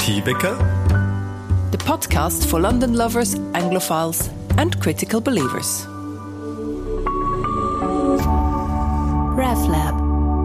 T-Wecker, the podcast for London lovers, Anglophiles and critical believers. RevLab.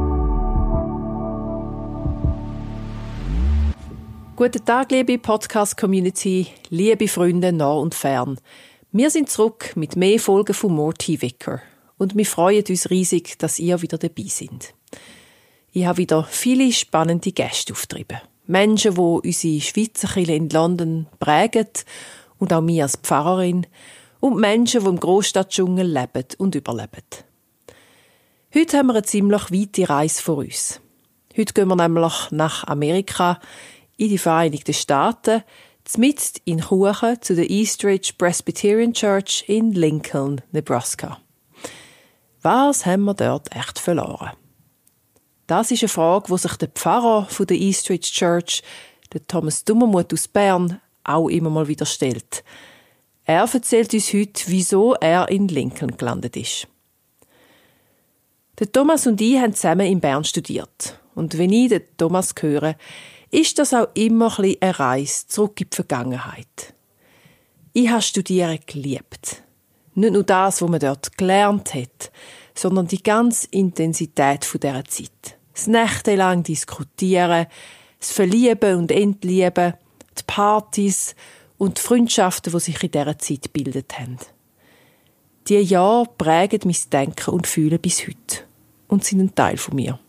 Guten Tag, liebe Podcast-Community, liebe Freunde nah und fern. Wir sind zurück mit mehr Folgen von More T-Wecker und wir freuen uns riesig, dass ihr wieder dabei seid. Ich habe wieder viele spannende Gäste aufgetrieben. Menschen, die unsere Schweizer Kirche in London prägen und auch mich als Pfarrerin. Und Menschen, die im Großstadtdschungel leben und überleben. Heute haben wir eine ziemlich weite Reise vor uns. Heute gehen wir nämlich nach Amerika, in die Vereinigten Staaten, mitten in Kuchen zu der Eastridge Presbyterian Church in Lincoln, Nebraska. Was haben wir dort echt verloren? Das ist eine Frage, die sich der Pfarrer von der Eastridge Church, der Thomas Dummermuth aus Bern, auch immer mal wieder stellt. Er erzählt uns heute, wieso er in Lincoln gelandet ist. Der Thomas und ich haben zusammen in Bern studiert. Und wenn ich den Thomas höre, ist das auch immer ein bisschen eine Reise zurück in die Vergangenheit. Ich habe Studieren geliebt. Nicht nur das, was man dort gelernt hat, sondern die ganze Intensität dieser Zeit. Das nächtelang Diskutieren, das Verlieben und Entlieben, die Partys und die Freundschaften, die sich in dieser Zeit gebildet haben. Diese Jahre prägen mein Denken und Fühlen bis heute und sind ein Teil von mir.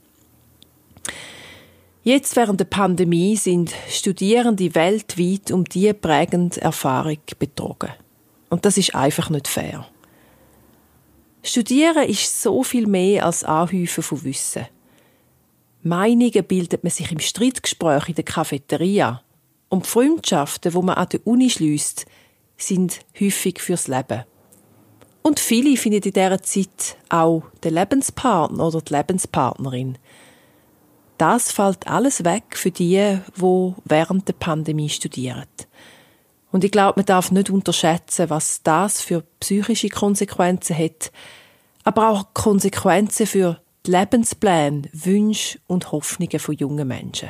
Jetzt während der Pandemie sind Studierende weltweit um diese prägende Erfahrung betrogen. Und das ist einfach nicht fair. Studieren ist so viel mehr als Anhäufen von Wissen. Meinungen bildet man sich im Streitgespräch in der Cafeteria. Und die Freundschaften, die man an der Uni schliesst, sind häufig fürs Leben. Und viele finden in dieser Zeit auch den Lebenspartner oder die Lebenspartnerin. Das fällt alles weg für die während der Pandemie studieren. Und ich glaube, man darf nicht unterschätzen, was das für psychische Konsequenzen hat, aber auch Konsequenzen für die Lebenspläne, Wünsche und Hoffnungen von jungen Menschen.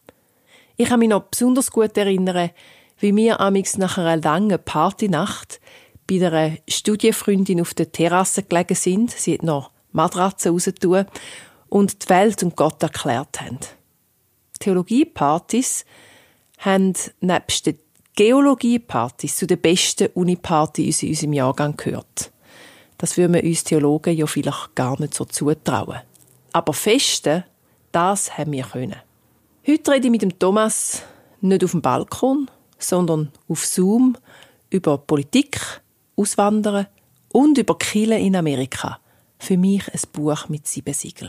Ich kann mich noch besonders gut erinnern, wie wir amigs nach einer langen Partynacht bei einer Studienfreundin auf der Terrasse gelegen sind. Sie hat noch Matratzen rausgetan und die Welt und Gott erklärt haben. Theologiepartys haben nebst den Geologiepartys zu den besten Unipartys in unserem Jahrgang gehört. Das würden wir uns Theologen ja vielleicht gar nicht so zutrauen. Aber Festen, das haben wir können. Heute rede ich mit dem Thomas nicht auf dem Balkon, sondern auf Zoom über Politik, Auswandern und über Kirche in Amerika. Für mich ein Buch mit 7 Siegeln.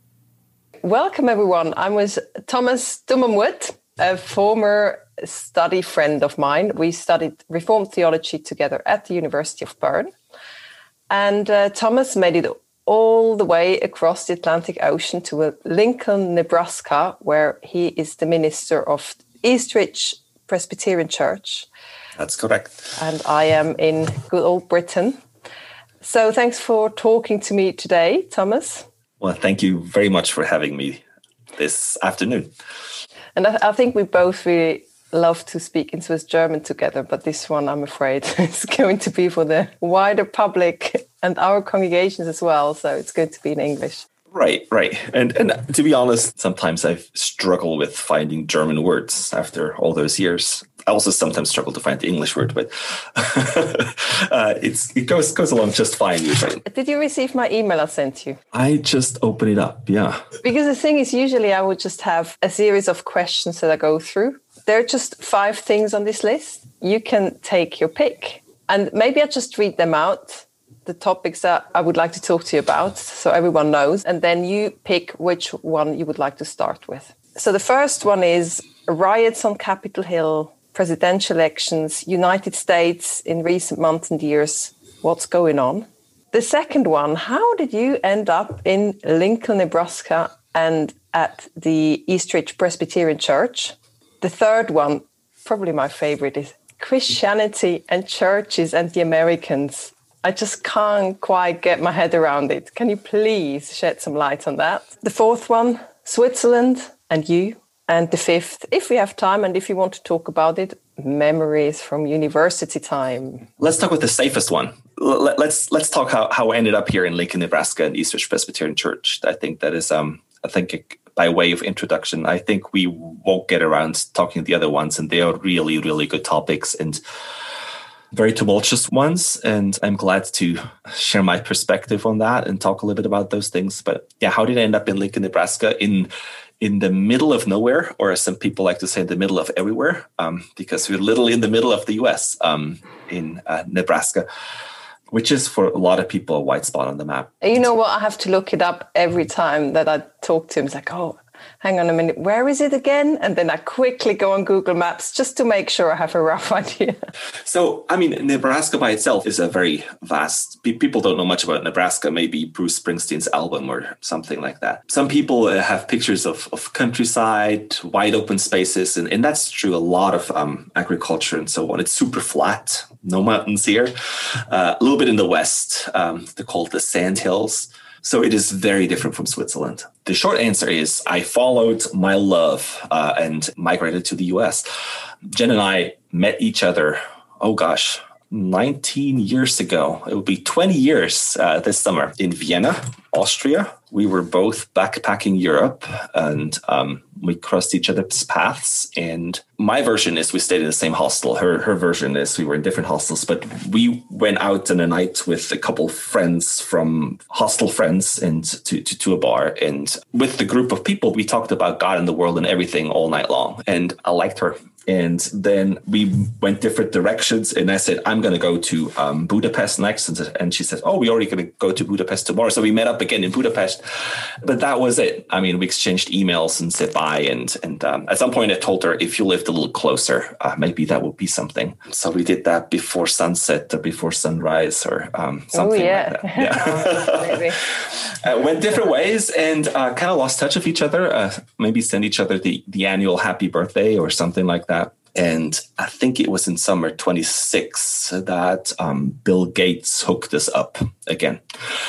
Welcome everyone. I'm with Thomas Dummermuth, a former study friend of mine. We studied Reformed theology together at the University of Bern. And Thomas made it all the way across the Atlantic Ocean to Lincoln, Nebraska, where he is the minister of Eastridge Presbyterian Church. That's correct. And I am in good old Britain. So thanks for talking to me today, Thomas. Well, thank you very much for having me this afternoon. And I think we both really love to speak in Swiss German together, but this one, I'm afraid, is going to be for the wider public and our congregations as well, so it's going to be in English. Right. And to be honest, sometimes I've struggled with finding German words after all those years. I also sometimes struggle to find the English word, but it goes along just fine usually. Did you receive my email I sent you? I just open it up, yeah. Because the thing is, usually I would just have a series of questions that I go through. There are just 5 things on this list. You can take your pick. And maybe I just read them out, the topics that I would like to talk to you about, so everyone knows. And then you pick which one you would like to start with. So the first one is riots on Capitol Hill, presidential elections, United States in recent months and years. What's going on? The second one, how did you end up in Lincoln, Nebraska and at the Eastridge Presbyterian Church? The third one, probably my favorite, is Christianity and churches and the Americans. I just can't quite get my head around it. Can you please shed some light on that? The fourth one, Switzerland and you. And the fifth, if we have time and if you want to talk about it, memories from university time. Let's talk with the safest one. Let's talk how I ended up here in Lincoln, Nebraska, in Eastridge Presbyterian Church. I think that is, by way of introduction, I think we won't get around talking the other ones, and they are really, really good topics and very tumultuous ones. And I'm glad to share my perspective on that and talk a little bit about those things. But yeah, how did I end up in Lincoln, Nebraska, in the middle of nowhere, or as some people like to say, in the middle of everywhere, because we're literally in the middle of the US, in Nebraska, which is for a lot of people a white spot on the map. You know what? I have to look it up every time that I talk to him. It's like, oh, hang on a minute, where is it again? And then I quickly go on Google Maps just to make sure I have a rough idea. So, I mean, Nebraska by itself is a very vast, people don't know much about Nebraska, maybe Bruce Springsteen's album or something like that. Some people have pictures of countryside, wide open spaces, and that's true, a lot of agriculture and so on. It's super flat, no mountains here. A little bit in the west, they're called the Sandhills. So it is very different from Switzerland. The short answer is I followed my love and migrated to the US. Jen and I met each other, 19 years ago. It will be 20 years this summer in Vienna, Austria. We were both backpacking Europe, and we crossed each other's paths. And my version is we stayed in the same hostel. Her version is we were in different hostels, but we went out on a night with a couple friends from hostel friends and to a bar. And with the group of people, we talked about God and the world and everything all night long. And I liked her. And then we went different directions. And I said, I'm going to go to Budapest next. And she said, oh, we're already going to go to Budapest tomorrow. So we met up again in Budapest. But that was it. I mean, we exchanged emails and said bye. And at some point I told her, if you lived a little closer, maybe that would be something. So we did that before sunset or before sunrise or something like that. Yeah. Went different ways and kind of lost touch of each other. Maybe send each other the annual happy birthday or something like that. And I think it was in summer 26 that Bill Gates hooked us up again.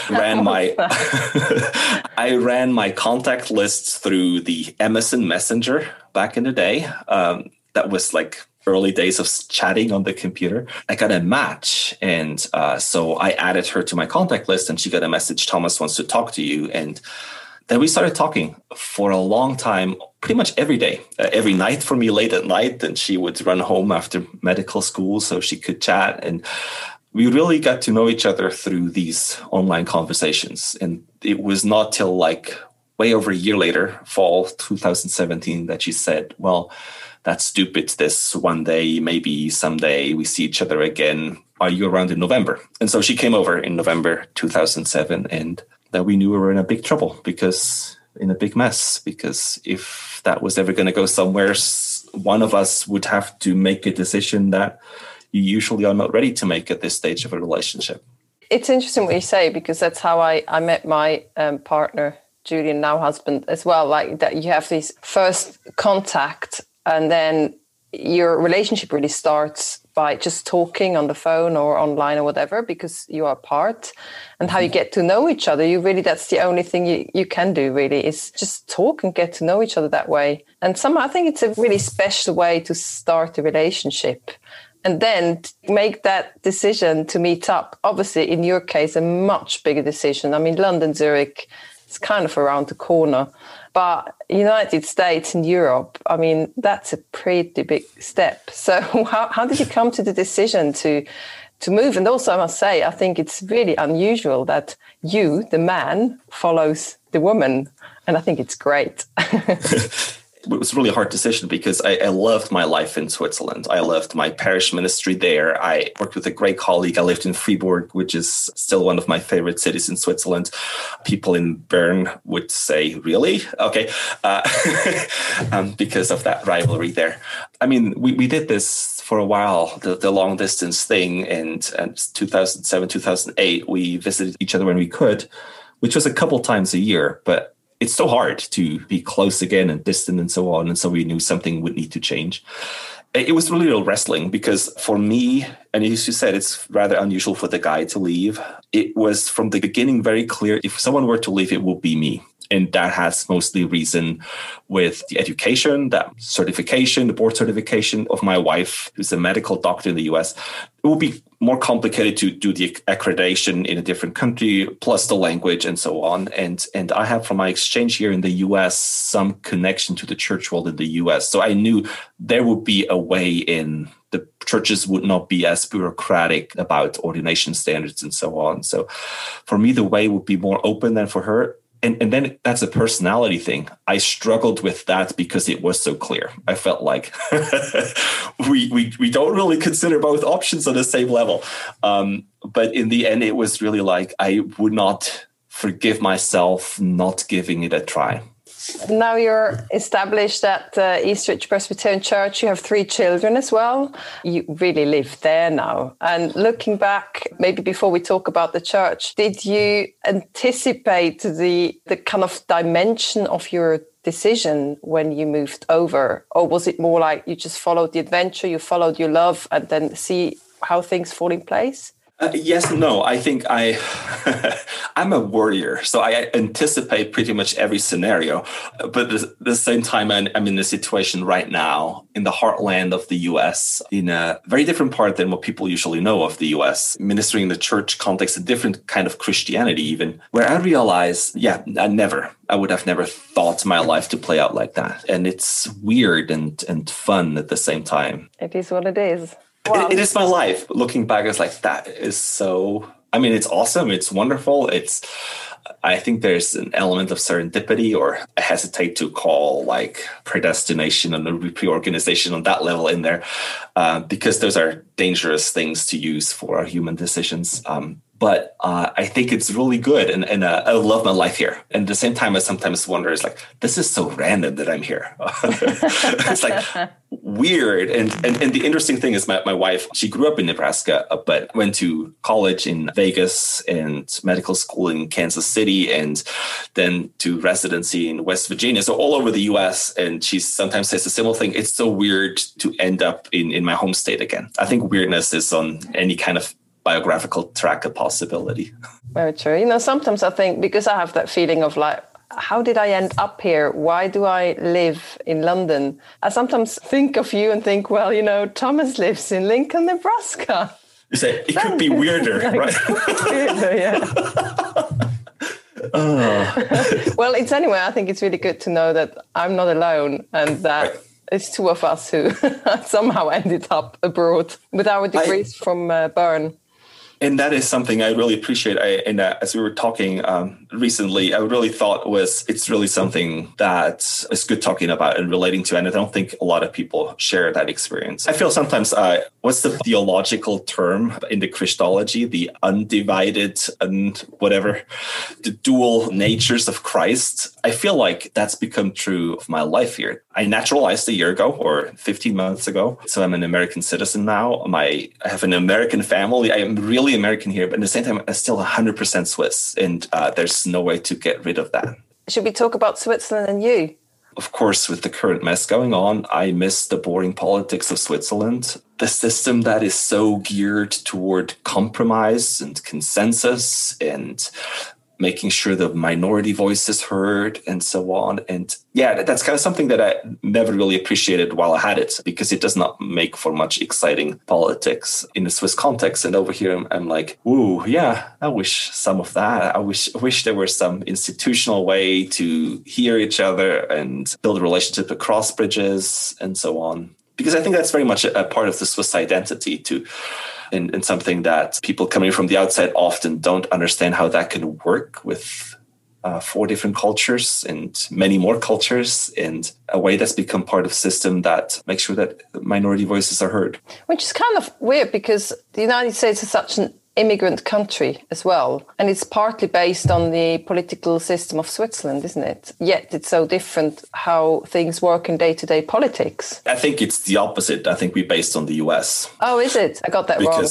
I ran my contact lists through the MSN Messenger back in the day. That was like early days of chatting on the computer. I got a match. And so I added her to my contact list and she got a message, Thomas wants to talk to you. And then we started talking for a long time, pretty much every day, every night for me late at night. And she would run home after medical school so she could chat. And we really got to know each other through these online conversations. And it was not till like way over a year later, fall 2017, that she said, well, that's stupid. This one day, maybe someday we see each other again. Are you around in November? And so she came over in November 2007 and that we knew we were in a big trouble in a big mess, because if that was ever going to go somewhere, one of us would have to make a decision that you usually are not ready to make at this stage of a relationship. It's interesting what you say, because that's how I met my partner, Julian, now husband, as well. Like that, you have this first contact and then your relationship really starts by just talking on the phone or online or whatever, because you are apart. And how you get to know each other, that's the only thing you can do really, is just talk and get to know each other that way. And somehow I think it's a really special way to start a relationship. And then make that decision to meet up. Obviously, in your case, a much bigger decision. I mean, London, Zurich, it's kind of around the corner. But United States and Europe, I mean, that's a pretty big step. So how did you come to the decision to move? And also, I must say, I think it's really unusual that you, the man, follows the woman. And I think it's great. It was a really hard decision because I loved my life in Switzerland. I loved my parish ministry there. I worked with a great colleague. I lived in Fribourg, which is still one of my favorite cities in Switzerland. People in Bern would say, really? Okay. Because of that rivalry there. I mean, we did this for a while, the long distance thing. And 2007, 2008, we visited each other when we could, which was a couple times a year. But it's so hard to be close again and distant and so on. And so we knew something would need to change. It was really real wrestling because for me, and as you said, it's rather unusual for the guy to leave. It was from the beginning very clear, if someone were to leave, it would be me. And that has mostly reason with the education, that certification, the board certification of my wife, who's a medical doctor in the US. It would be more complicated to do the accreditation in a different country, plus the language and so on. And I have, from my exchange here in the US, some connection to the church world in the US. So I knew there would be a way in. The churches would not be as bureaucratic about ordination standards and so on. So for me, the way would be more open than for her. And then that's a personality thing. I struggled with that because it was so clear. I felt like we don't really consider both options on the same level. But in the end, it was really like I would not forgive myself not giving it a try. Now you're established at Eastridge Presbyterian Church. You have 3 children as well. You really live there now. And looking back, maybe before we talk about the church, did you anticipate the kind of dimension of your decision when you moved over? Or was it more like you just followed the adventure, you followed your love, and then see how things fall in place? Yes and no. I think I'm a worrier, so I anticipate pretty much every scenario. But at the same time, I'm in a situation right now in the heartland of the US, in a very different part than what people usually know of the US, ministering in the church context, a different kind of Christianity even, where I realize, I would have never thought my life to play out like that. And it's weird and fun at the same time. It is what it is. Wow. It is my life. Looking back, it's like, that is so, it's awesome. It's wonderful. I think there's an element of serendipity, or I hesitate to call like predestination and a reorganization on that level in there, because those are dangerous things to use for our human decisions. But I think it's really good. And I love my life here. And at the same time, I sometimes wonder, it's like, this is so random that I'm here. It's like weird. And the interesting thing is my wife, she grew up in Nebraska, but went to college in Vegas and medical school in Kansas City, and then to residency in West Virginia. So all over the US. And she sometimes says a similar thing. It's so weird to end up in my home state again. I think weirdness is on any kind of biographical track a possibility. Very true. Sometimes I think, because I have that feeling of like, how did I end up here? Why do I live in London? I sometimes think of you and think, well, Thomas lives in Lincoln, Nebraska. You say it could be weirder, right? Weirder, yeah. Well, I think it's really good to know that I'm not alone, and that it's 2 of us who somehow ended up abroad with our degrees from Bern. And that is something I really appreciate. As we were talking recently, I really thought it's really something that is good talking about and relating to. And I don't think a lot of people share that experience. I feel sometimes, what's the theological term in the Christology? The undivided and whatever, the dual natures of Christ. I feel like that's become true of my life here. I naturalized a year ago or 15 months ago. So I'm an American citizen now. I have an American family. I am really American here, but at the same time, I'm still 100% Swiss. And there's no way to get rid of that. Should we talk about Switzerland and you? Of course, with the current mess going on, I miss the boring politics of Switzerland. The system that is so geared toward compromise and consensus and making sure the minority voice is heard and so on. And yeah, that's kind of something that I never really appreciated while I had it, because it does not make for much exciting politics in the Swiss context. And over here, I'm like, ooh, yeah, I wish some of that. I wish there was some institutional way to hear each other and build a relationship across bridges and so on. Because I think that's very much a part of the Swiss identity too. And something that people coming from the outside often don't understand how that can work with 4 different cultures and many more cultures, in a way that's become part of a system that makes sure that minority voices are heard. Which is kind of weird, because the United States is such an immigrant country as well. And it's partly based on the political system of Switzerland, isn't it? Yet it's so different how things work in day-to-day politics. I think it's the opposite. I think we're based on the US. Oh, is it? I got that wrong. Because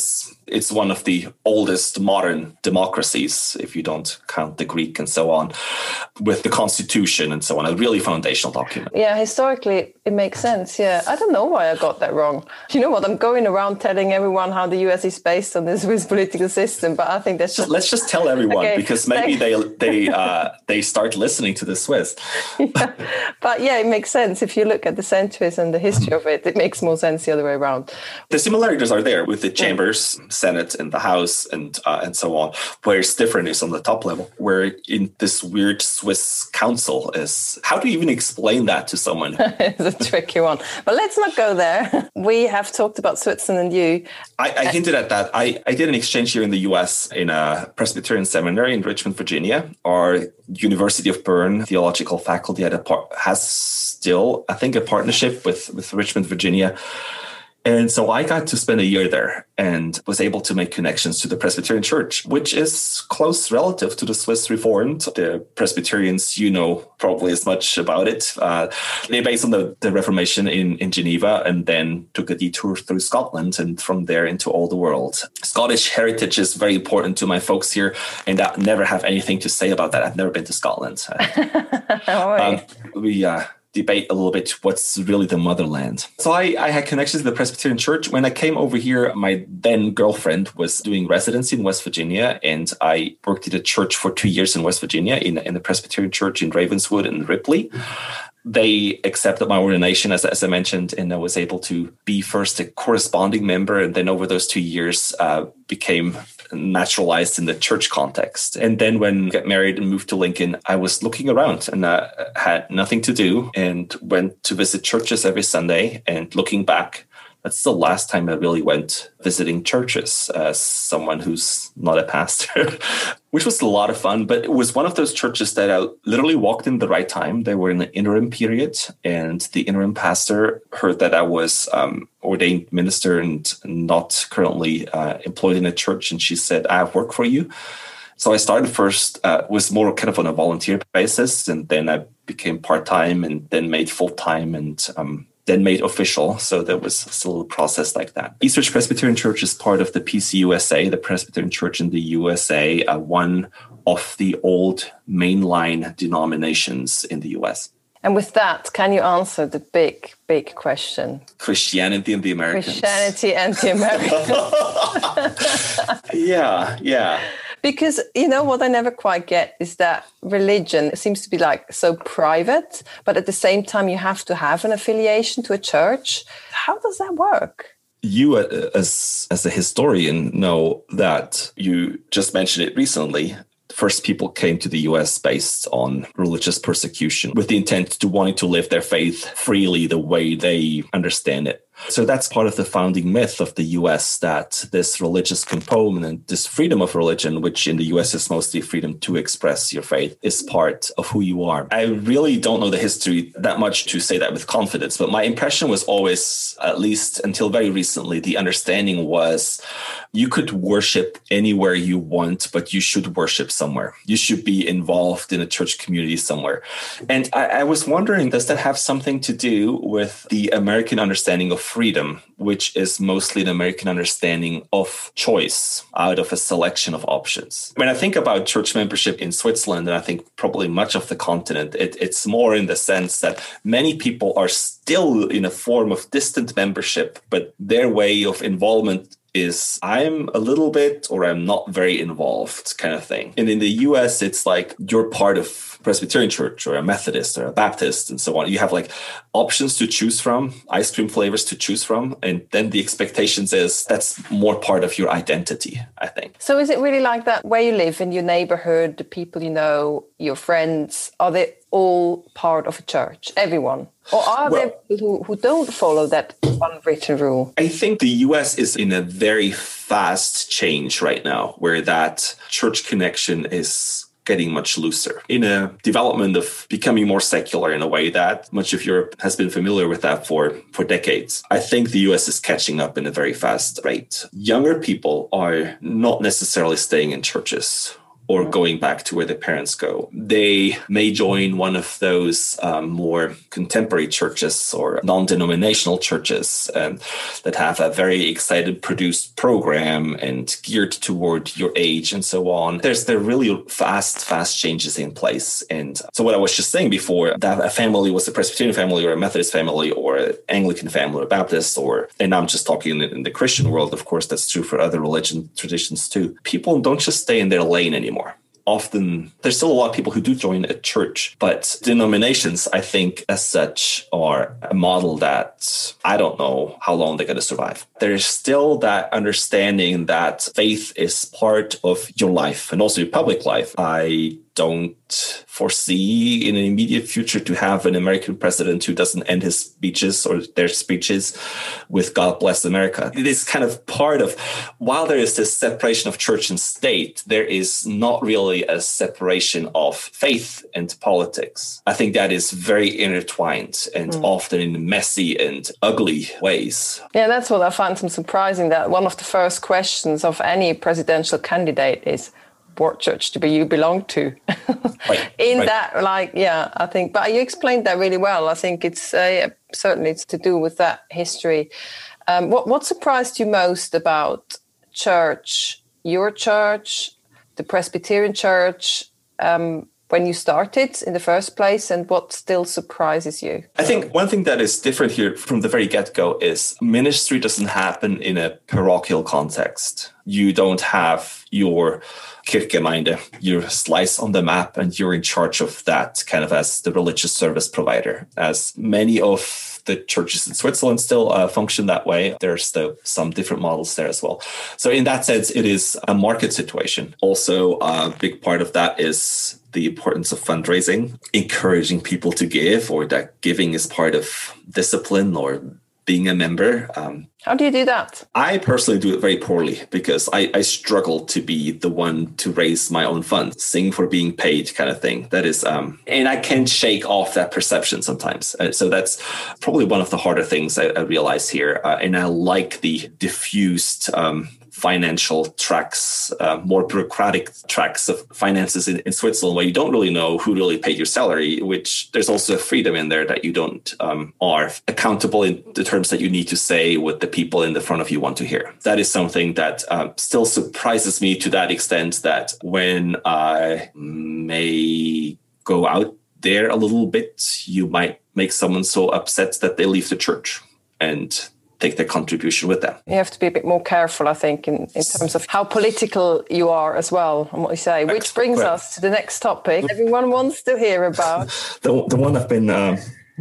It's one of the oldest modern democracies, if you don't count the Greek and so on, with the constitution and so on, a really foundational document. Yeah, historically, it makes sense. Yeah, I don't know why I got that wrong. You know what? I'm going around telling everyone how the US is based on the Swiss political system, but I think that's just... Let's just tell everyone, okay, because maybe they start listening to the Swiss. Yeah. But yeah, it makes sense. If you look at the centuries and the history of it, it makes more sense the other way around. The similarities are there with the chambers, Senate and the House and so on. Where it's different is on the top level, where in this weird Swiss council is... How do you even explain that to someone? It's a tricky one. But let's not go there. We have talked about Switzerland and you. I hinted at that. I did an exchange here in the US in a Presbyterian seminary in Richmond, Virginia. Our University of Bern theological faculty has still, I think, a partnership with Richmond, Virginia. And so I got to spend a year there and was able to make connections to the Presbyterian Church, which is close relative to the Swiss Reformed. The Presbyterians, you know probably as much about it. They based on the Reformation in Geneva and then took a detour through Scotland and from there into all the world. Scottish heritage is very important to my folks here, and I never have anything to say about that. I've never been to Scotland. We debate a little bit what's really the motherland. So I had connections to the Presbyterian Church. When I came over here, my then girlfriend was doing residency in West Virginia, and I worked at a church for 2 years in West Virginia in the Presbyterian Church in Ravenswood and Ripley. They accepted my ordination, as I mentioned, and I was able to be first a corresponding member, and then over those 2 years became naturalized in the church context. And then when I got married and moved to Lincoln, I was looking around and had nothing to do and went to visit churches every Sunday. And looking back, that's the last time I really went visiting churches as someone who's not a pastor, which was a lot of fun. But it was one of those churches that I literally walked in the right time. They were in an interim period, and the interim pastor heard that I was ordained minister and not currently employed in a church. And she said, I have work for you. So I started first, was more kind of on a volunteer basis, and then I became part-time and then made full-time and then made official. So there was still a process like that. Eastridge Presbyterian Church is part of the PCUSA, the Presbyterian Church in the USA, one of the old mainline denominations in the US. And with that, can you answer the big, big question? Christianity and the Americans. Christianity and the Americans. Yeah. Because, you know, what I never quite get is that religion seems to be like so private, but at the same time, you have to have an affiliation to a church. How does that work? You, as a historian, know that you just mentioned it recently. First, people came to the US based on religious persecution with the intent to wanting to live their faith freely the way they understand it. So that's part of the founding myth of the US, that this religious component, this freedom of religion, which in the US is mostly freedom to express your faith, is part of who you are. I really don't know the history that much to say that with confidence, but my impression was always, at least until very recently, the understanding was you could worship anywhere you want, but you should worship somewhere. You should be involved in a church community somewhere. And I was wondering, does that have something to do with the American understanding of freedom, which is mostly an American understanding of choice out of a selection of options? When I think about church membership in Switzerland, and I think probably much of the continent, it's more in the sense that many people are still in a form of distant membership, but their way of involvement is I'm a little bit or I'm not very involved kind of thing. And in the US, it's like you're part of Presbyterian Church or a Methodist or a Baptist and so on. You have like options to choose from, ice cream flavors to choose from. And then the expectations is that's more part of your identity, I think. So is it really like that where you live, in your neighborhood, the people you know, your friends, are they all part of a church, everyone? Or are there people who don't follow that unwritten rule? I think the US is in a very fast change right now, where that church connection is getting much looser in a development of becoming more secular in a way that much of Europe has been familiar with that for decades. I think the US is catching up in a very fast rate. Younger people are not necessarily staying in churches or going back to where their parents go. They may join one of those more contemporary churches or non-denominational churches that have a very excited produced program and geared toward your age and so on. There are really fast changes in place. And so what I was just saying before, that a family was a Presbyterian family or a Methodist family or an Anglican family or Baptist, and I'm just talking in the Christian world, of course, that's true for other religion traditions too. People don't just stay in their lane anymore. Often, there's still a lot of people who do join a church, but denominations, I think, as such, are a model that I don't know how long they're going to survive. There's still that understanding that faith is part of your life and also your public life. I don't foresee in an immediate future to have an American president who doesn't end his speeches or their speeches with God bless America. It is kind of part of, while there is this separation of church and state, there is not really a separation of faith and politics. I think that is very intertwined and often in messy and ugly ways. Yeah, that's what I find so surprising, that one of the first questions of any presidential candidate is, what church do you belong to? Right. I think, but you explained that really well. I think it's certainly it's to do with that history. What surprised you most about church, your church, the Presbyterian church, when you started in the first place, and what still surprises you? I think one thing that is different here from the very get-go is ministry doesn't happen in a parochial context. You don't have your Kirchgemeinde, your slice on the map, and you're in charge of that kind of as the religious service provider. As many of the churches in Switzerland still function that way, there's some different models there as well. So in that sense, it is a market situation. Also, a big part of that is the importance of fundraising, encouraging people to give, or that giving is part of discipline or being a member. How do you do that? I personally do it very poorly because I struggle to be the one to raise my own funds, sing for being paid kind of thing. That is, and I can shake off that perception sometimes. So that's probably one of the harder things I realize here. And I like the diffused financial tracks, more bureaucratic tracks of finances in Switzerland, where you don't really know who really paid your salary, which there's also a freedom in there that you don't are accountable in the terms that you need to say what the people in the front of you want to hear. That is something that still surprises me to that extent that when I may go out there a little bit, you might make someone so upset that they leave the church and take their contribution with them. You have to be a bit more careful, I think, in terms of how political you are as well, and what you say, which brings us to the next topic everyone wants to hear about. the one I've been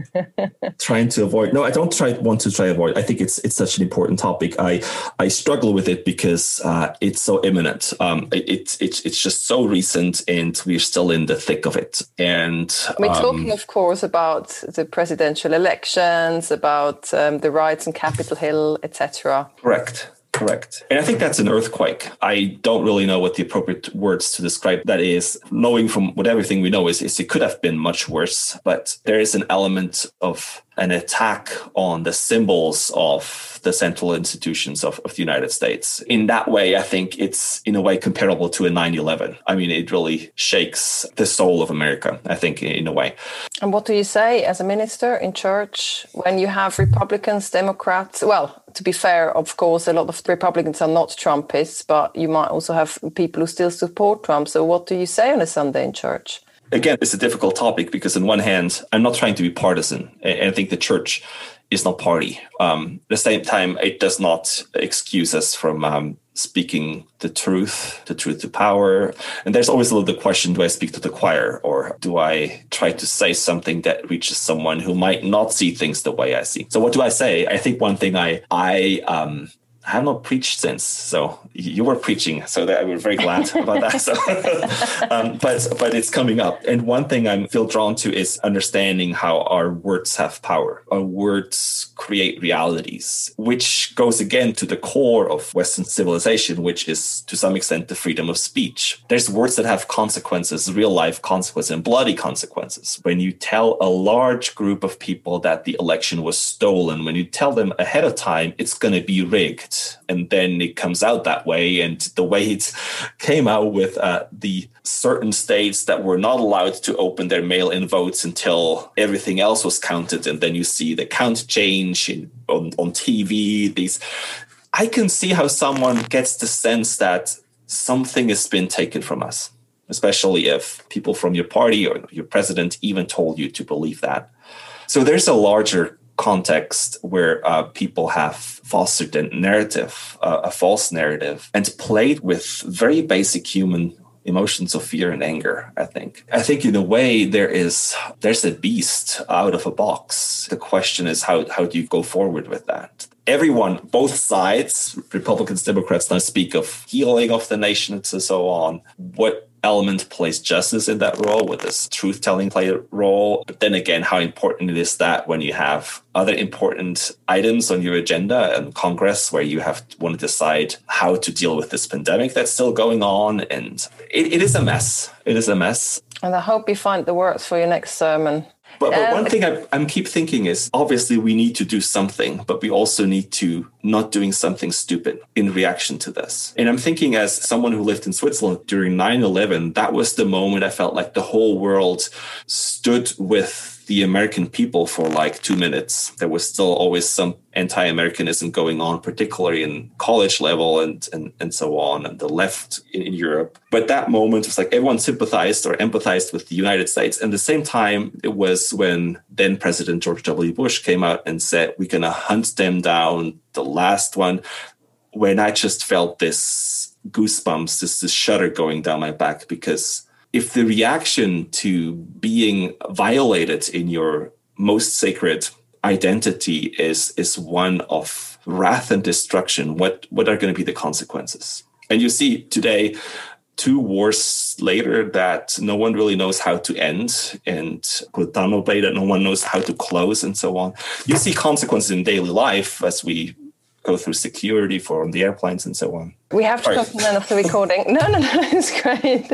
trying to avoid. No, I don't want to try to avoid. I think it's such an important topic. I struggle with it because it's so imminent. It's just so recent, and we're still in the thick of it. And we're talking, of course, about the presidential elections, about the riots on Capitol Hill, etc. Correct. And I think that's an earthquake. I don't really know what the appropriate words to describe that is. Knowing from what everything we know is it could have been much worse, but there is an element of an attack on the symbols of the central institutions of the United States. In that way, I think it's in a way comparable to a 9/11. I mean, it really shakes the soul of America, I think, in a way. And what do you say as a minister in church when you have Republicans, Democrats? Well, to be fair, of course, a lot of Republicans are not Trumpists, but you might also have people who still support Trump. So what do you say on a Sunday in church? Again, it's a difficult topic because on one hand, I'm not trying to be partisan. And I think the church is not party. At the same time, it does not excuse us from speaking the truth to power. And there's always a little question, do I speak to the choir, or do I try to say something that reaches someone who might not see things the way I see? So what do I say? I think one thing I have not preached since, so you were preaching, so that we're very glad about that. So, but it's coming up, and one thing I feel drawn to is understanding how our words have power. Our words create realities, which goes again to the core of Western civilization, which is to some extent the freedom of speech. There's words that have consequences, real life consequences, and bloody consequences. When you tell a large group of people that the election was stolen, when you tell them ahead of time it's going to be rigged, it. And then it comes out that way. And the way it came out with the certain states that were not allowed to open their mail-in votes until everything else was counted. And then you see the count change on TV. I can see how someone gets the sense that something has been taken from us, especially if people from your party or your president even told you to believe that. So there's a larger context where people have fostered a narrative, a false narrative, and played with very basic human emotions of fear and anger, I think. I think in a way there's a beast out of a box. The question is how do you go forward with that? Everyone, both sides, Republicans, Democrats, now speak of healing of the nation and so on. What element plays justice in that role? What does truth-telling play a role? But then again, how important it is that when you have other important items on your agenda and Congress where you want to decide how to deal with this pandemic that's still going on. And it is a mess. It is a mess. And I hope you find the words for your next sermon. But one thing I keep thinking is, obviously we need to do something, but we also need to not doing something stupid in reaction to this. And I'm thinking, as someone who lived in Switzerland during 9/11, that was the moment I felt like the whole world stood with the American people for like 2 minutes. There was still always some anti-Americanism going on, particularly in college level and so on, and the left in Europe. But that moment was like everyone sympathized or empathized with the United States. And at the same time, it was when then President George W. Bush came out and said, we're going to hunt them down, the last one, when I just felt this goosebumps, this shudder going down my back, because if the reaction to being violated in your most sacred identity is one of wrath and destruction, what are going to be the consequences? And you see today, 2 wars later that no one really knows how to end, and Guantanamo Bay that no one knows how to close, and so on. You see consequences in daily life as we go through security on the airplanes and so on. We have to come to the end of the recording. No, it's great.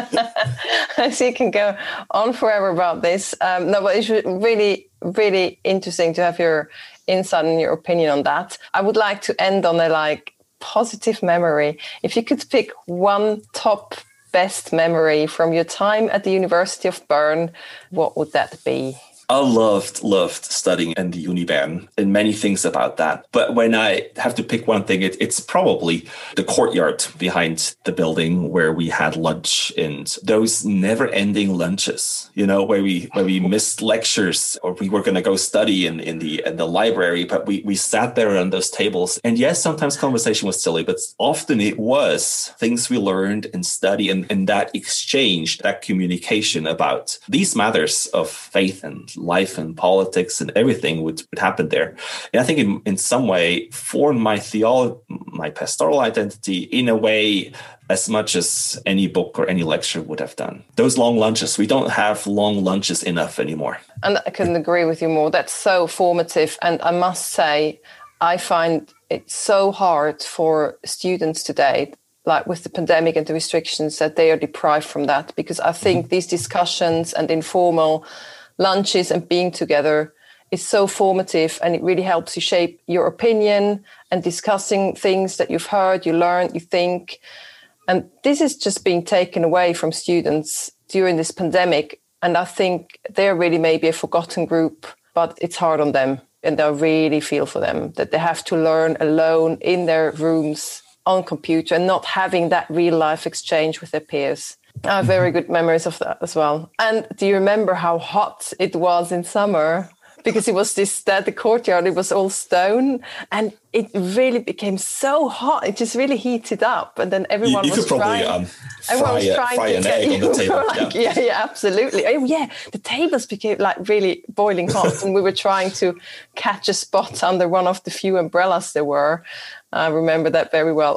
I see you can go on forever about this. No, but it's really, really interesting to have your insight and your opinion on that. I would like to end on a positive memory. If you could pick one top best memory from your time at the University of Bern, what would that be? I loved studying in the Uni Bern and many things about that. But when I have to pick one thing, it's probably the courtyard behind the building where we had lunch, and those never-ending lunches, where we missed lectures or we were going to go study in the library, but we sat there on those tables. And yes, sometimes conversation was silly, but often it was things we learned and study, and that exchange, that communication about these matters of faith and life and politics and everything would happen there. And I think in some way formed my my pastoral identity in a way as much as any book or any lecture would have done. Those long lunches, we don't have long lunches enough anymore. And I couldn't agree with you more. That's so formative. And I must say, I find it so hard for students today, like with the pandemic and the restrictions, that they are deprived from that, because I think these discussions and informal lunches and being together is so formative, and it really helps you shape your opinion and discussing things that you've heard, you learned, you think. And this is just being taken away from students during this pandemic. And I think they're really maybe a forgotten group, but it's hard on them. And I really feel for them that they have to learn alone in their rooms on computer and not having that real life exchange with their peers. I have very good memories of that as well. And do you remember how hot it was in summer? Because it was the courtyard, it was all stone, and it really became so hot. It just really heated up, and then everyone was trying. Fry an egg on the table. Yeah, absolutely. Oh, yeah, the tables became really boiling hot, and we were trying to catch a spot under one of the few umbrellas there were. I remember that very well.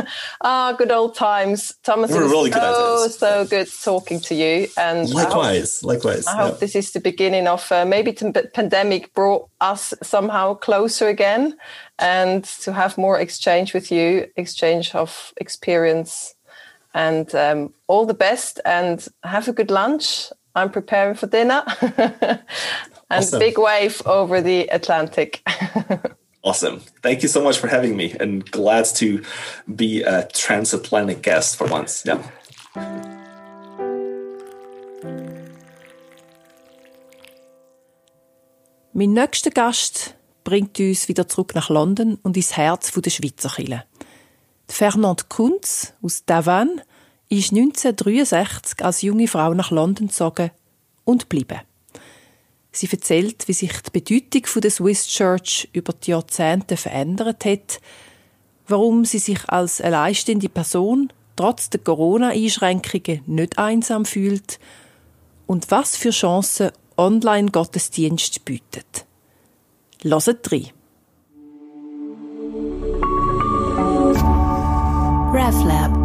Good old times. Thomas, it was really so good talking to you. And likewise. I hope this is the beginning of maybe the pandemic brought us somehow closer again, and to have more exchange with you, exchange of experience. And all the best, and have a good lunch. I'm preparing for dinner. And awesome. Big wave over the Atlantic. Awesome. Thank you so much for having me, and glad to be a transatlantic guest for once. Yeah. Mein nächster Gast bringt uns wieder zurück nach London und ins Herz der Schweizer Kirche. Fernande Kunz aus Tavannes ist 1963 als junge Frau nach London gezogen und geblieben. Sie erzählt, wie sich die Bedeutung der Swiss Church über die Jahrzehnte verändert hat, warum sie sich als alleinstehende Person trotz der Corona-Einschränkungen nicht einsam fühlt und was für Chancen Online-Gottesdienst bietet. Hört rein. RefLab